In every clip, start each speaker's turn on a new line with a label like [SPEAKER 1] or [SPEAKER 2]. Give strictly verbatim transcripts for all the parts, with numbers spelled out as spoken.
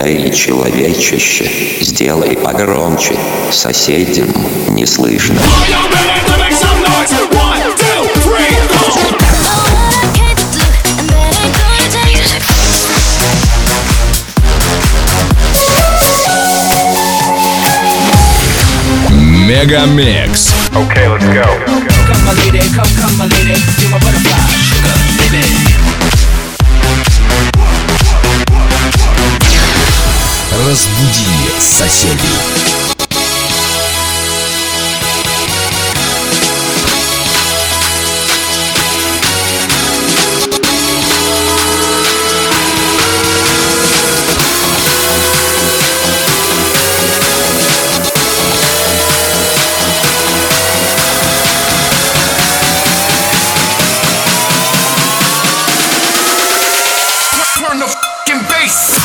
[SPEAKER 1] Эй, человечище, сделай погромче, соседям не слышно.
[SPEAKER 2] Мегамикс.
[SPEAKER 3] Okay, let's go.
[SPEAKER 4] Come my lady, come, come my lady, you're my butterfly, sugar, baby.
[SPEAKER 2] Разбуди соседей.
[SPEAKER 4] Turn the fucking bass.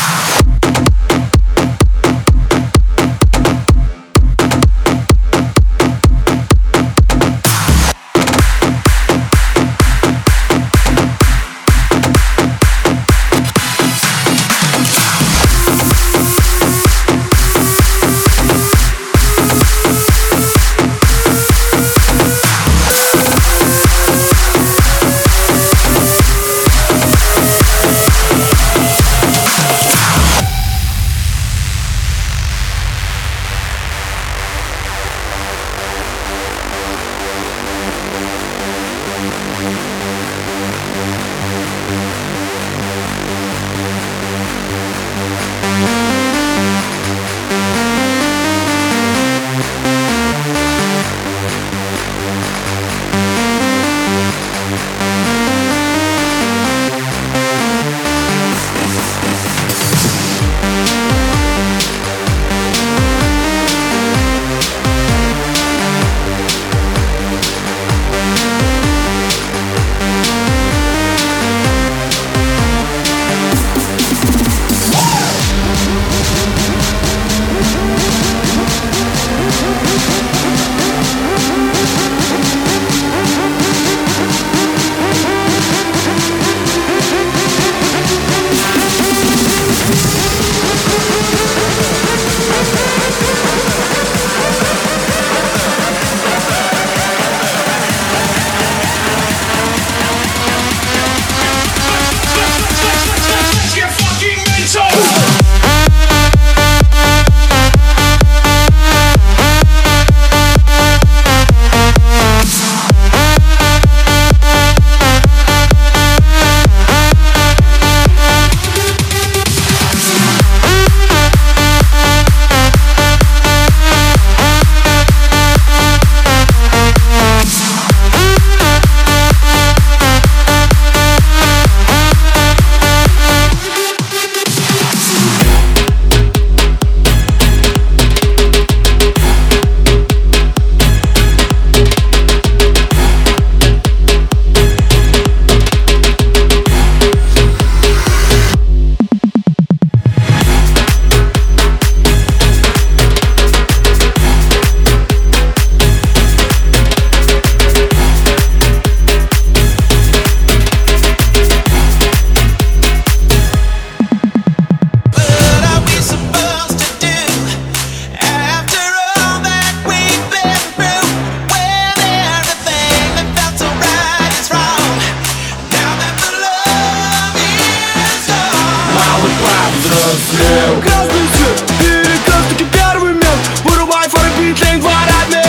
[SPEAKER 5] Красный свет, перекресток и первый мент. Вырубай фары, битлейн, два родных.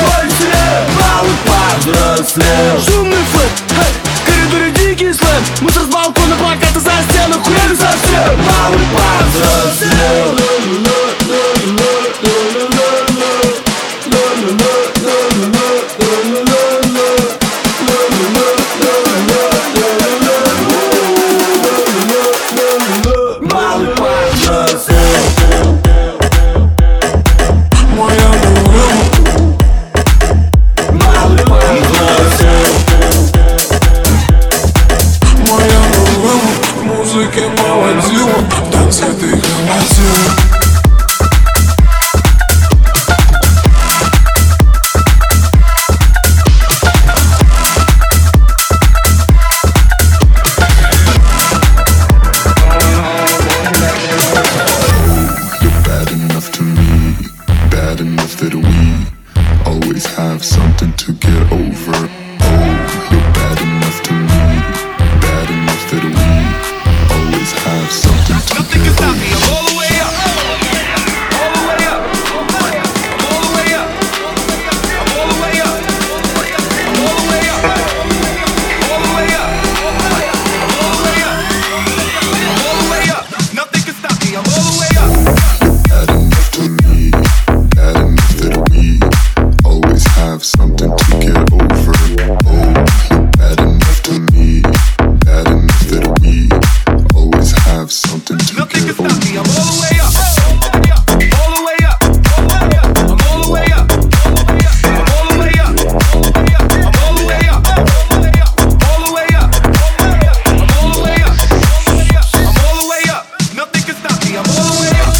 [SPEAKER 5] Малый повзрослел. Шумный флэт, эй, в коридоре дикий слэм. Мусор с балкона, плакаты за стену, хуяли совсем. Малый повзрослел. Малый повзрослел.
[SPEAKER 3] enough to me, bad enough that we always have something to get over. Oh, you're bad enough to me, bad enough that we always have something to
[SPEAKER 5] Nothing
[SPEAKER 3] get
[SPEAKER 5] can stop me, I'm
[SPEAKER 3] over.
[SPEAKER 5] all the way up. All the way up. I'm all the way up. I'm all the way up. I'm all the way up. All the way up. I'm all the way up. I'm all the way up. Nothing can stop me, I'm all the way up.
[SPEAKER 3] Bad enough to me, bad enough that we always have something to get over. Oh, you're bad enough to me, bad enough that we always have something to
[SPEAKER 5] Nothing
[SPEAKER 3] get
[SPEAKER 5] can stop me, I'm
[SPEAKER 3] over.
[SPEAKER 5] all the way up. All the way up. I'm all the way up. I'm all the way up. I'm all the way up. All the way up. I'm all the way up. I'm all the way up. Nothing can stop me, I'm all the way up.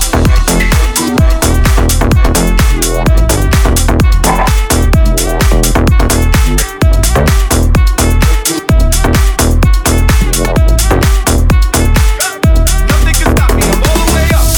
[SPEAKER 5] Nothing can stop me, I'm all the way up.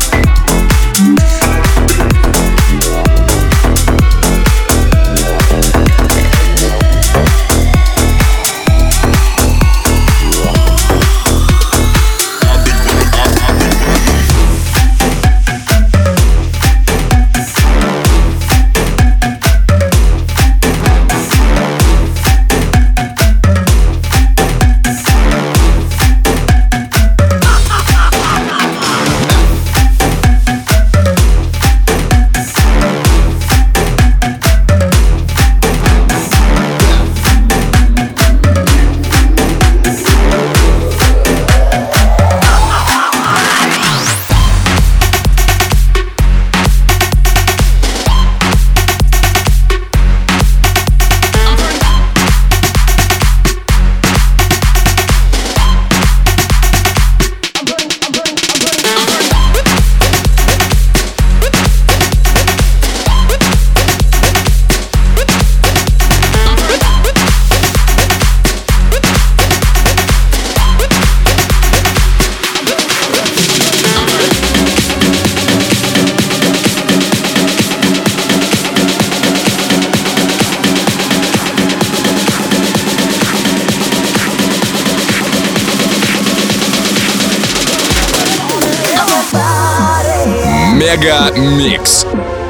[SPEAKER 2] Мега Микс.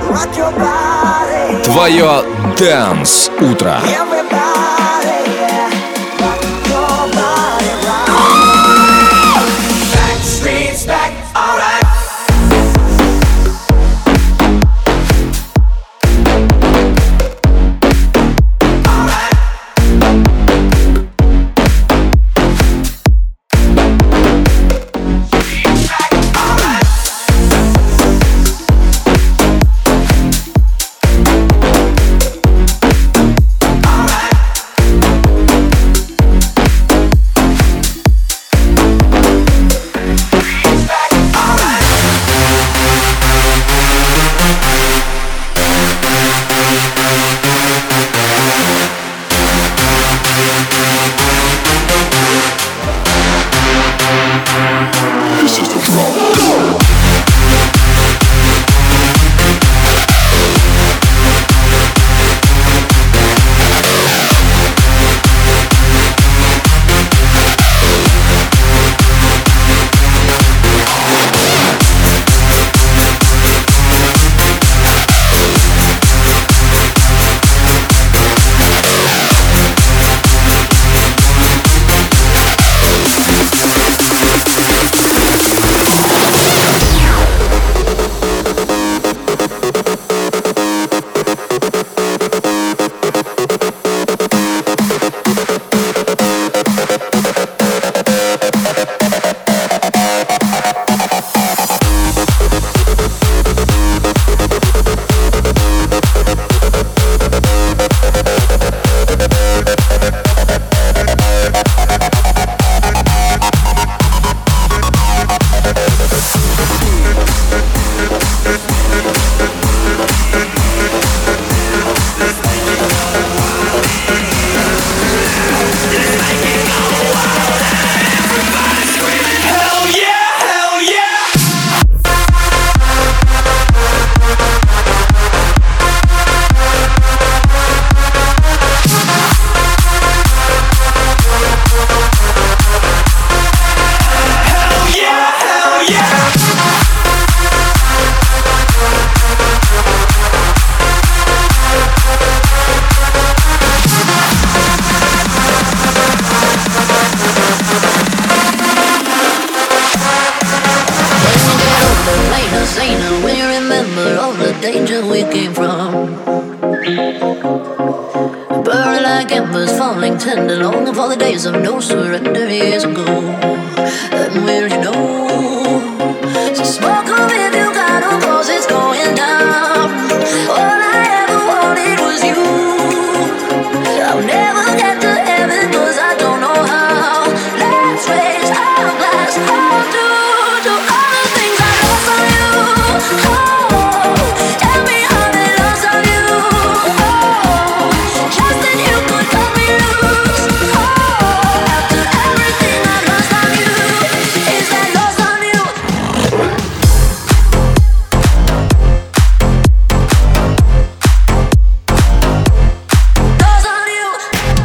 [SPEAKER 2] Твое Dance утро.
[SPEAKER 5] Alright.
[SPEAKER 6] the danger we came from. Burn like embers, falling tender, longing for the days of no surrender years ago. And will you know? So smoke on if you got no cause it's going down. All I ever wanted was you. I'll never get to heaven cause I don't know how. Let's raise our glass, hold to, to all the things I lost on you. Oh, tell me how they lost on you. Oh, just then you could cut me loose. Oh, after everything I lost on you, is that lost on you? Lost on you.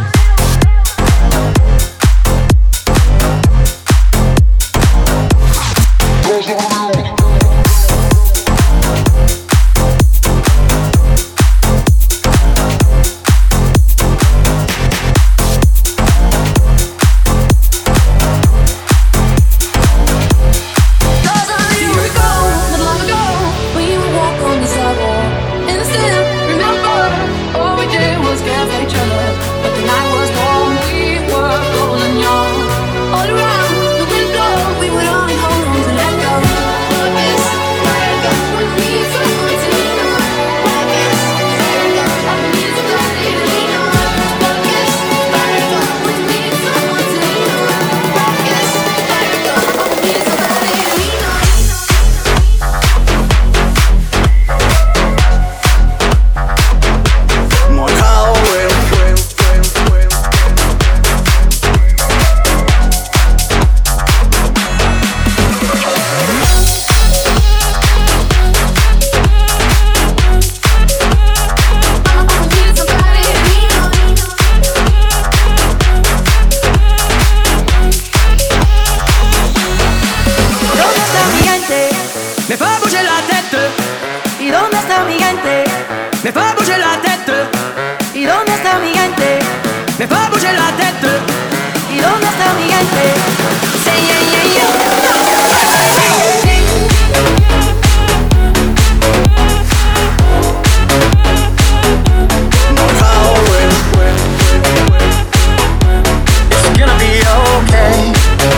[SPEAKER 6] Here we go, not long ago, we would walk on the sidewalk. And still remember, all we did was care for each other. But the night was warm, we were golden young. All around the window, we would only hold on to let go. But this, we need someone to lean on. But this, I need somebody to lean on. But this, we need someone to lean on. But this, I need somebody to lean on.
[SPEAKER 5] More power.
[SPEAKER 7] ¿Dónde está mi gente? Me fa bouger la tête. ¿Y dónde está mi gente? Me fa bouger la tête. ¿Y dónde está mi gente? Me fa bouger la tête. ¿Y dónde está mi gente? Say yeah yeah yeah.
[SPEAKER 5] More power. It's gonna be okay.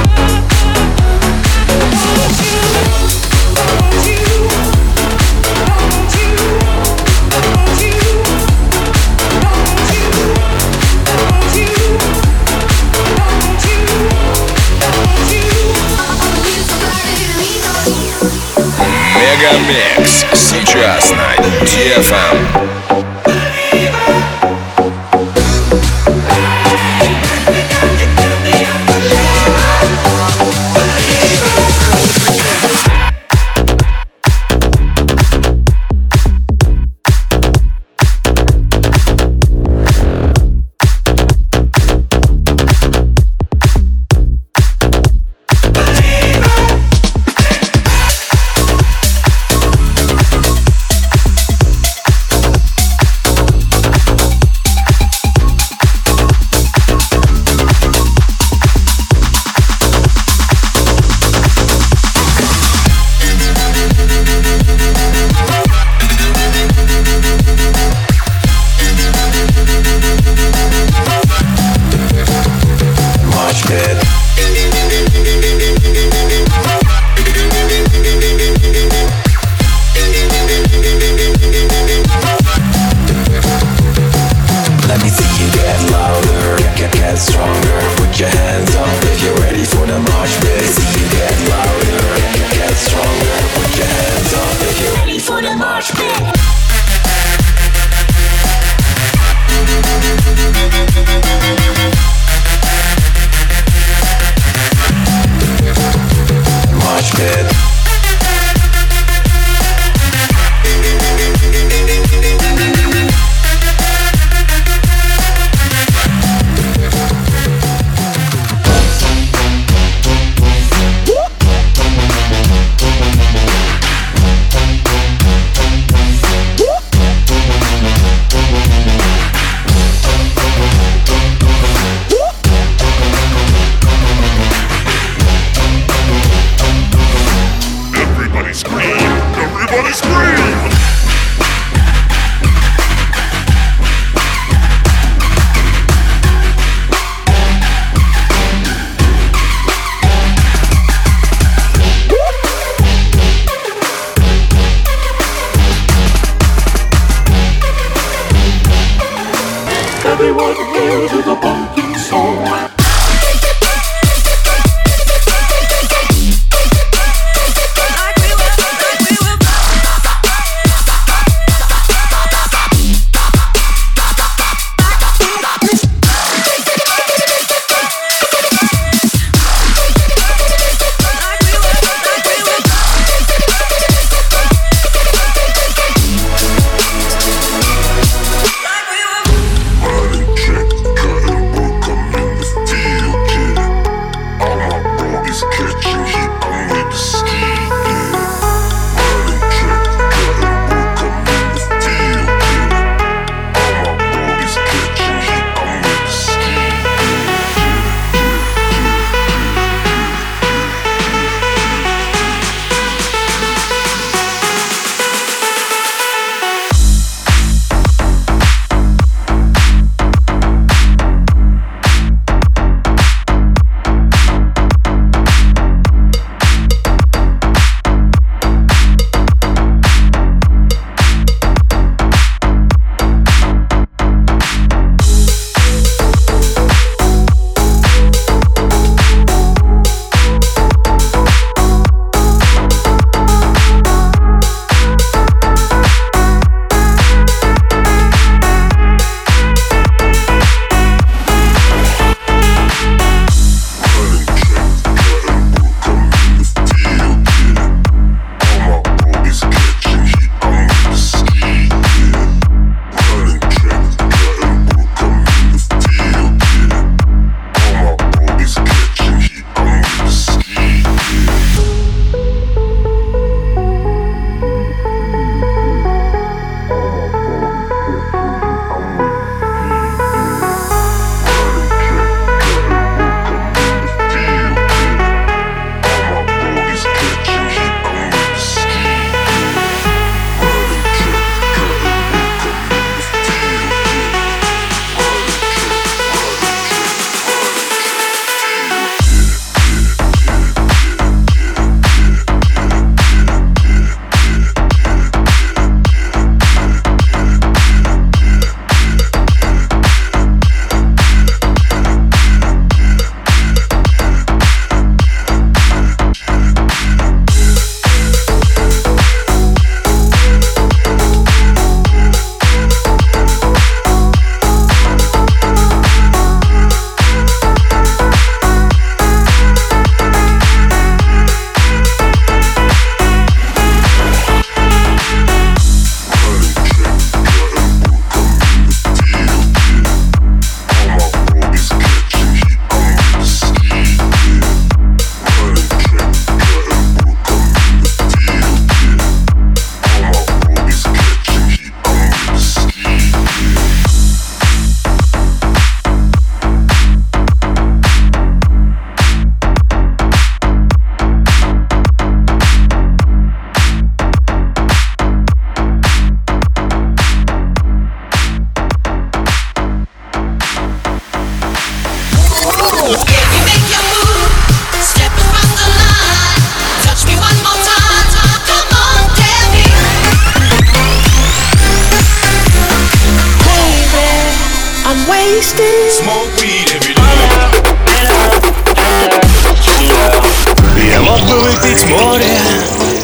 [SPEAKER 2] Мегамикс сейчас на ди эф эм.
[SPEAKER 3] Everybody scream! Everybody scream!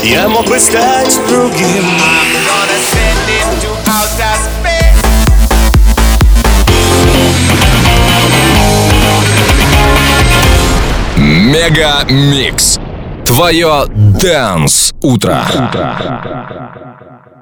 [SPEAKER 8] Я мог бы стать другим.
[SPEAKER 2] Мега Микс. Твое Dance утро.